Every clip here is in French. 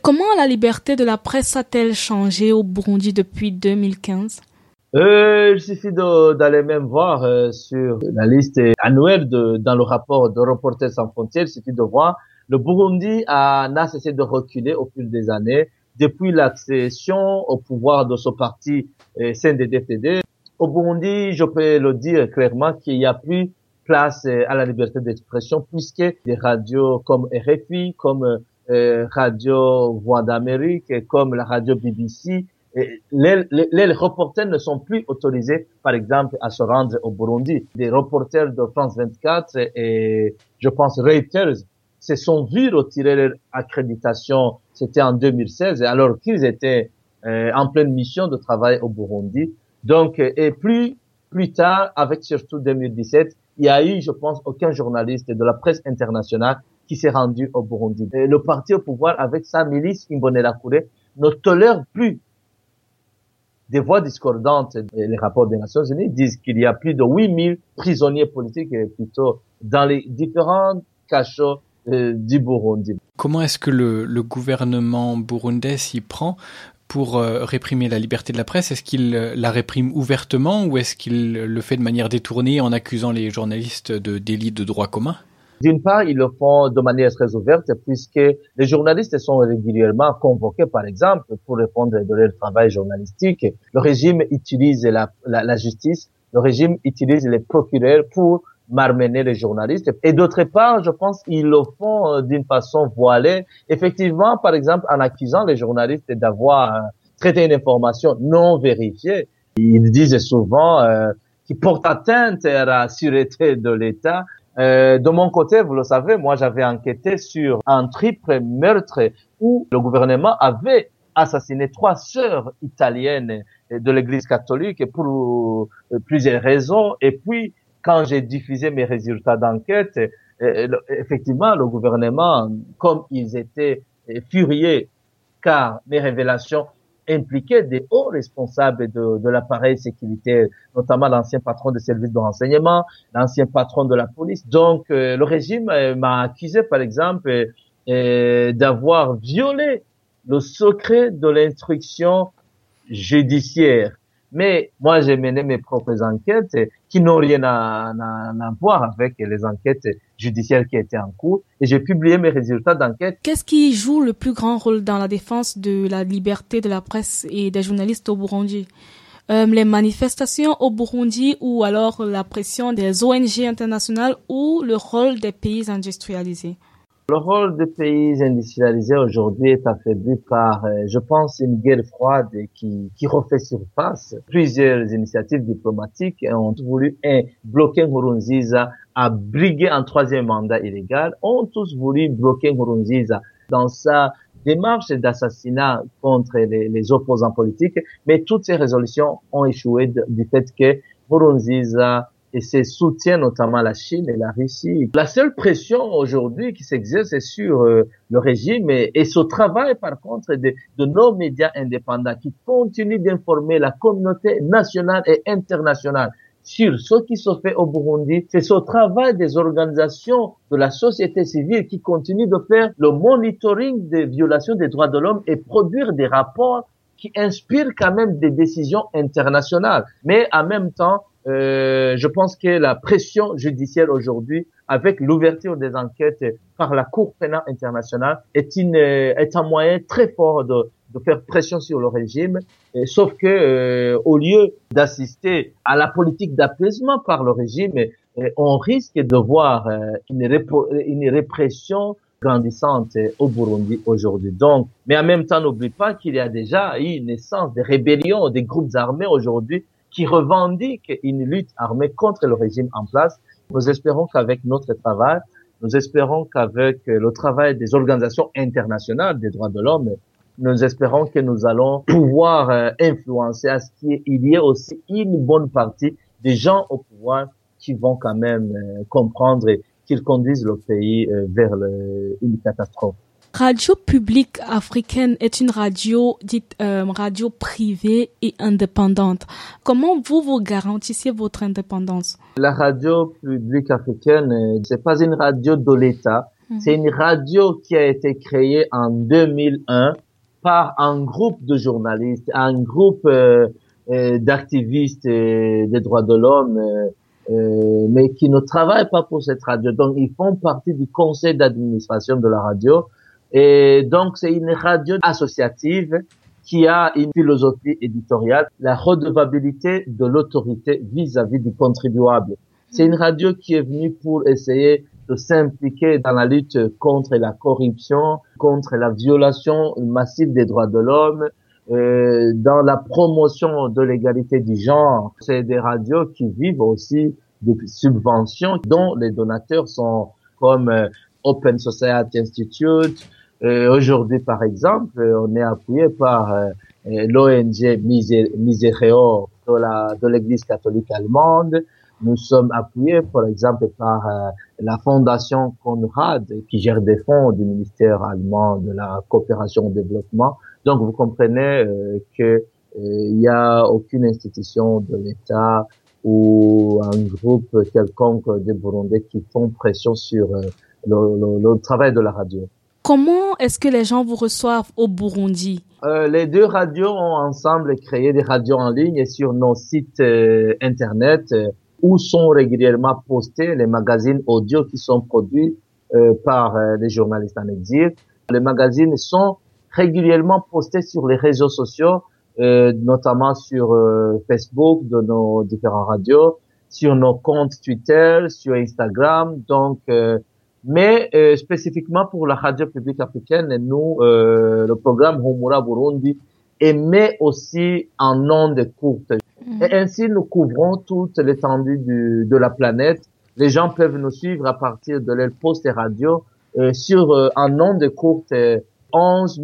Comment la liberté de la presse a-t-elle changé au Burundi depuis 2015? Il suffit d'aller même voir sur la liste annuelle dans le rapport de Reporters sans frontières, il suffit de voir le Burundi n'a cessé de reculer au fil des années depuis l'accession au pouvoir de ce parti CNDD-FDD. Au Burundi, je peux le dire clairement qu'il y a plus place à la liberté d'expression puisque des radios comme RFI, comme Radio Voix d'Amérique, comme la radio BBC, les reporters ne sont plus autorisés, par exemple, à se rendre au Burundi. Des reporters de France 24 et, je pense, Reuters se sont vus retirer leur accréditation. C'était en 2016, alors qu'ils étaient en pleine mission de travail au Burundi. Donc, et plus tard, avec surtout 2017, il y a eu, je pense, aucun journaliste de la presse internationale qui s'est rendu au Burundi. Et le parti au pouvoir, avec sa milice Imbonerakure, ne tolère plus des voix discordantes. Les rapports des Nations Unies disent qu'il y a plus de 8000 prisonniers politiques plutôt dans les différents cachots du Burundi. Comment est-ce que le gouvernement burundais s'y prend pour réprimer la liberté de la presse? Est-ce qu'il la réprime ouvertement ou est-ce qu'il le fait de manière détournée en accusant les journalistes de délits de droit commun? D'une part, ils le font de manière très ouverte puisque les journalistes sont régulièrement convoqués, par exemple, pour répondre de leur travail journalistique. Le régime utilise la justice, le régime utilise les procureurs pour malmener les journalistes. Et d'autre part, je pense qu'ils le font d'une façon voilée. Effectivement, par exemple, en accusant les journalistes d'avoir traité une information non vérifiée, ils disent souvent qu'ils portent atteinte à la sûreté de l'État. De mon côté, vous le savez, moi j'avais enquêté sur un triple meurtre où le gouvernement avait assassiné 3 sœurs italiennes de l'Église catholique pour plusieurs raisons. Et puis, quand j'ai diffusé mes résultats d'enquête, effectivement, le gouvernement, comme ils étaient furieux, car mes révélations impliquaient des hauts responsables de l'appareil sécuritaire, notamment l'ancien patron des services de renseignement, l'ancien patron de la police. Donc, le régime m'a accusé, par exemple, d'avoir violé le secret de l'instruction judiciaire. Mais moi, j'ai mené mes propres enquêtes qui n'ont rien à voir avec les enquêtes judiciaires qui étaient en cours et j'ai publié mes résultats d'enquête. Qu'est-ce qui joue le plus grand rôle dans la défense de la liberté de la presse et des journalistes au Burundi? Les manifestations au Burundi ou alors la pression des ONG internationales ou le rôle des pays industrialisés? Le rôle des pays industrialisés aujourd'hui est affaibli par, je pense, une guerre froide qui refait surface. Plusieurs initiatives diplomatiques ont voulu bloquer Nkurunziza à briguer un 3e mandat illégal, ont tous voulu bloquer Nkurunziza dans sa démarche d'assassinat contre les opposants politiques, mais toutes ces résolutions ont échoué du fait que Nkurunziza et ses soutiens, notamment la Chine et la Russie. La seule pression aujourd'hui qui s'exerce est sur le régime et ce travail, par contre, de nos médias indépendants qui continuent d'informer la communauté nationale et internationale sur ce qui se fait au Burundi. C'est ce travail des organisations de la société civile qui continue de faire le monitoring des violations des droits de l'homme et produire des rapports qui inspirent quand même des décisions internationales. Mais en même temps, je pense que la pression judiciaire aujourd'hui, avec l'ouverture des enquêtes par la Cour pénale internationale, est un moyen très fort de faire pression sur le régime. Sauf que, au lieu d'assister à la politique d'apaisement par le régime, on risque de voir une répression grandissante au Burundi aujourd'hui. Donc, mais en même temps, n'oublie pas qu'il y a déjà eu une naissance des rébellions, des groupes armés aujourd'hui qui revendiquent une lutte armée contre le régime en place. Nous espérons qu'avec notre travail, nous espérons qu'avec le travail des organisations internationales des droits de l'homme, nous espérons que nous allons pouvoir influencer à ce qu'il y ait aussi une bonne partie des gens au pouvoir qui vont quand même comprendre qu'ils conduisent le pays vers une catastrophe. Radio Publique Africaine est une radio dite radio privée et indépendante. Comment vous garantissez votre indépendance? La Radio Publique Africaine, c'est pas une radio de l'État. C'est une radio qui a été créée en 2001 par un groupe de journalistes, un groupe d'activistes des droits de l'homme, mais qui ne travaillent pas pour cette radio. Donc, ils font partie du conseil d'administration de la radio. Et donc, c'est une radio associative qui a une philosophie éditoriale, la redevabilité de l'autorité vis-à-vis du contribuable. C'est une radio qui est venue pour essayer de s'impliquer dans la lutte contre la corruption, contre la violation massive des droits de l'homme, dans la promotion de l'égalité du genre. C'est des radios qui vivent aussi de subventions dont les donateurs sont comme Open Society Institute. Aujourd'hui, par exemple, on est appuyé par l'ONG Misereo de l'Église catholique allemande. Nous sommes appuyés, par exemple, par la Fondation Conrad, qui gère des fonds du ministère allemand de la coopération au développement. Donc, vous comprenez que il y a aucune institution de l'État ou un groupe quelconque de Burundais qui font pression sur le travail de la radio. Comment est-ce que les gens vous reçoivent au Burundi? Les deux radios ont ensemble créé des radios en ligne et sur nos sites internet où sont régulièrement postés les magazines audio qui sont produits par les journalistes en exil. Les magazines sont régulièrement postés sur les réseaux sociaux, notamment sur Facebook de nos différentes radios, sur nos comptes Twitter, sur Instagram. Donc, mais spécifiquement pour la radio publique africaine, nous, le programme Humura Burundi émet aussi en ondes courtes. Et ainsi, nous couvrons toute l'étendue de la planète. Les gens peuvent nous suivre à partir de leur poste radio sur en ondes courtes 11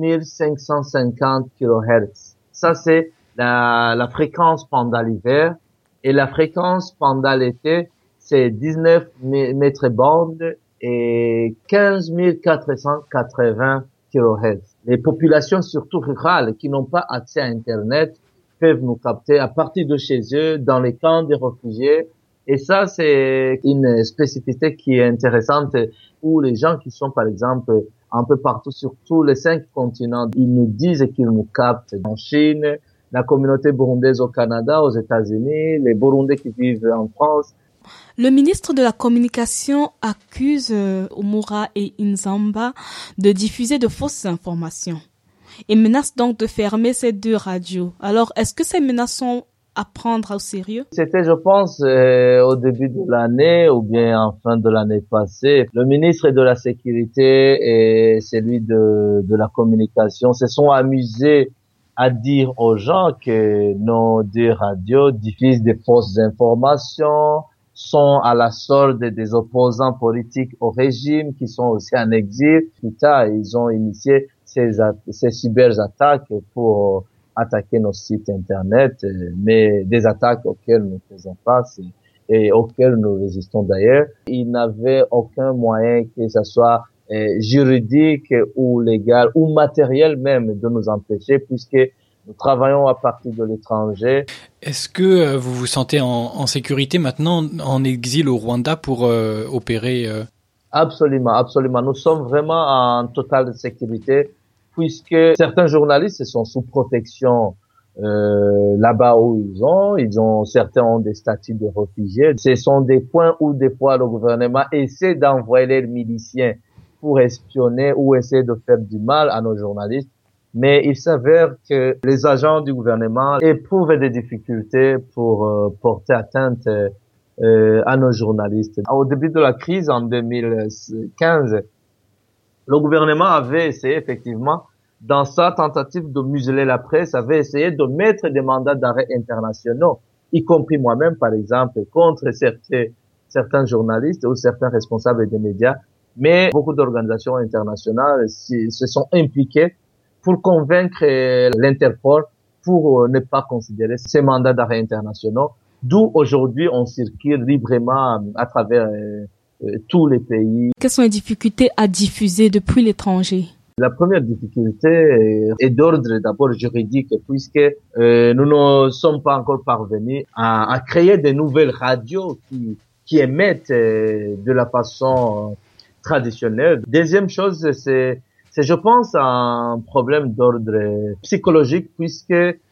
550 kHz. Ça, c'est la fréquence pendant l'hiver. Et la fréquence pendant l'été, c'est 19 mètres bandes et 15 480 kHz. Les populations, surtout rurales, qui n'ont pas accès à Internet, peuvent nous capter à partir de chez eux, dans les camps des réfugiés. Et ça, c'est une spécificité qui est intéressante pour les gens qui sont, par exemple, un peu partout sur tous les 5 continents. Ils nous disent qu'ils nous captent en Chine, la communauté burundaise au Canada, aux États-Unis, les Burundais qui vivent en France. Le ministre de la Communication accuse Humura et Inzamba de diffuser de fausses informations et menace donc de fermer ces deux radios. Alors, est-ce que ces menaces sont à prendre au sérieux? C'était, je pense, au début de l'année ou bien en fin de l'année passée. Le ministre de la Sécurité et celui de la Communication se sont amusés à dire aux gens que nos deux radios diffusent des fausses informations, sont à la solde des opposants politiques au régime qui sont aussi en exil. Plus tard, ils ont initié ces cyberattaques pour attaquer nos sites internet, mais des attaques auxquelles nous faisons face et auxquelles nous résistons d'ailleurs. Ils n'avaient aucun moyen, que ce soit juridique ou légal ou matériel même, de nous empêcher, puisque nous travaillons à partir de l'étranger. Est-ce que vous vous sentez en sécurité maintenant en exil au Rwanda pour opérer Absolument, absolument. Nous sommes vraiment en totale sécurité, puisque certains journalistes sont sous protection là-bas où certains ont des statuts de réfugiés. Ce sont des points où des fois le gouvernement essaie d'envoyer les miliciens pour espionner ou essayer de faire du mal à nos journalistes. Mais il s'avère que les agents du gouvernement éprouvent des difficultés pour porter atteinte à nos journalistes. Au début de la crise en 2015, le gouvernement avait essayé effectivement, dans sa tentative de museler la presse, avait essayé de mettre des mandats d'arrêt internationaux, y compris moi-même par exemple, contre certains journalistes ou certains responsables des médias. Mais beaucoup d'organisations internationales se sont impliquées pour convaincre l'Interpol pour ne pas considérer ces mandats d'arrêt internationaux. D'où aujourd'hui on circule librement à travers tous les pays. Quelles sont les difficultés à diffuser depuis l'étranger? La première difficulté est d'ordre d'abord juridique, puisque nous ne sommes pas encore parvenus à créer de nouvelles radios qui émettent de la façon traditionnelle. Deuxième chose, c'est je pense un problème d'ordre psychologique puisque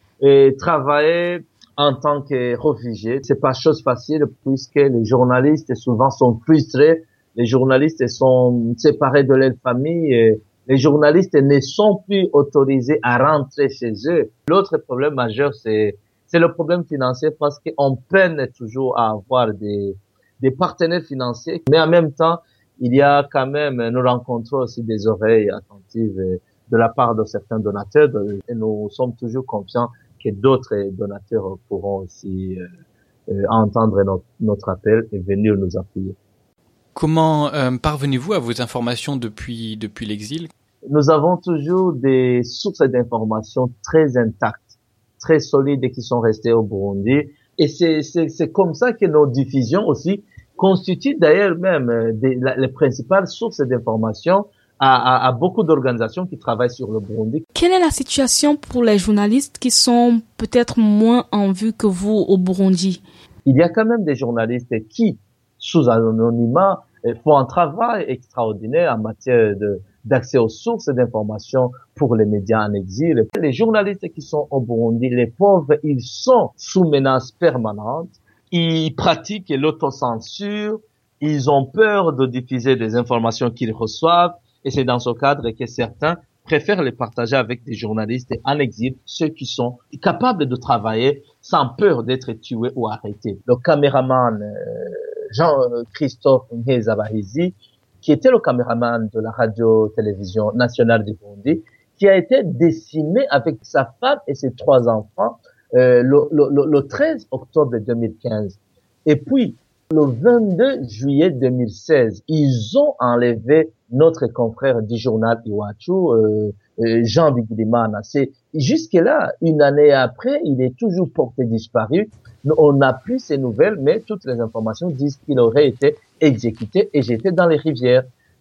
travailler en tant que réfugié, c'est pas chose facile puisque les journalistes souvent sont frustrés, les journalistes sont séparés de leur famille, et les journalistes ne sont plus autorisés à rentrer chez eux. L'autre problème majeur, c'est le problème financier parce qu'on peine toujours à avoir des partenaires financiers, mais en même temps, il y a quand même, nous rencontrons aussi des oreilles attentives de la part de certains donateurs et nous sommes toujours confiants que d'autres donateurs pourront aussi entendre notre appel et venir nous appuyer. Comment parvenez-vous à vos informations depuis l'exil? Nous avons toujours des sources d'informations très intactes, très solides et qui sont restées au Burundi. Et c'est comme ça que nos diffusions aussi constituent d'ailleurs même les principales sources d'informations à beaucoup d'organisations qui travaillent sur le Burundi. Quelle est la situation pour les journalistes qui sont peut-être moins en vue que vous au Burundi? Il y a quand même des journalistes qui, sous anonymat, font un travail extraordinaire en matière d'accès aux sources d'informations pour les médias en exil. Les journalistes qui sont au Burundi, les pauvres, ils sont sous menace permanente. Ils pratiquent l'autocensure. Ils ont peur de diffuser des informations qu'ils reçoivent. Et c'est dans ce cadre que certains préfèrent les partager avec des journalistes en exil, ceux qui sont capables de travailler sans peur d'être tués ou arrêtés. Le caméraman Jean-Christophe Nkezabahizi, qui était le caméraman de la radio-télévision nationale du Burundi, qui a été décimé avec sa femme et ses 3 enfants le 13 octobre 2015. Et puis, le 22 juillet 2016, ils ont enlevé notre confrère du journal Iwachu, Jean Bigirimana. C'est jusque-là, une année après, il est toujours porté disparu. On n'a plus ces nouvelles, mais toutes les informations disent qu'il aurait été exécuté et jeté dans les rivières.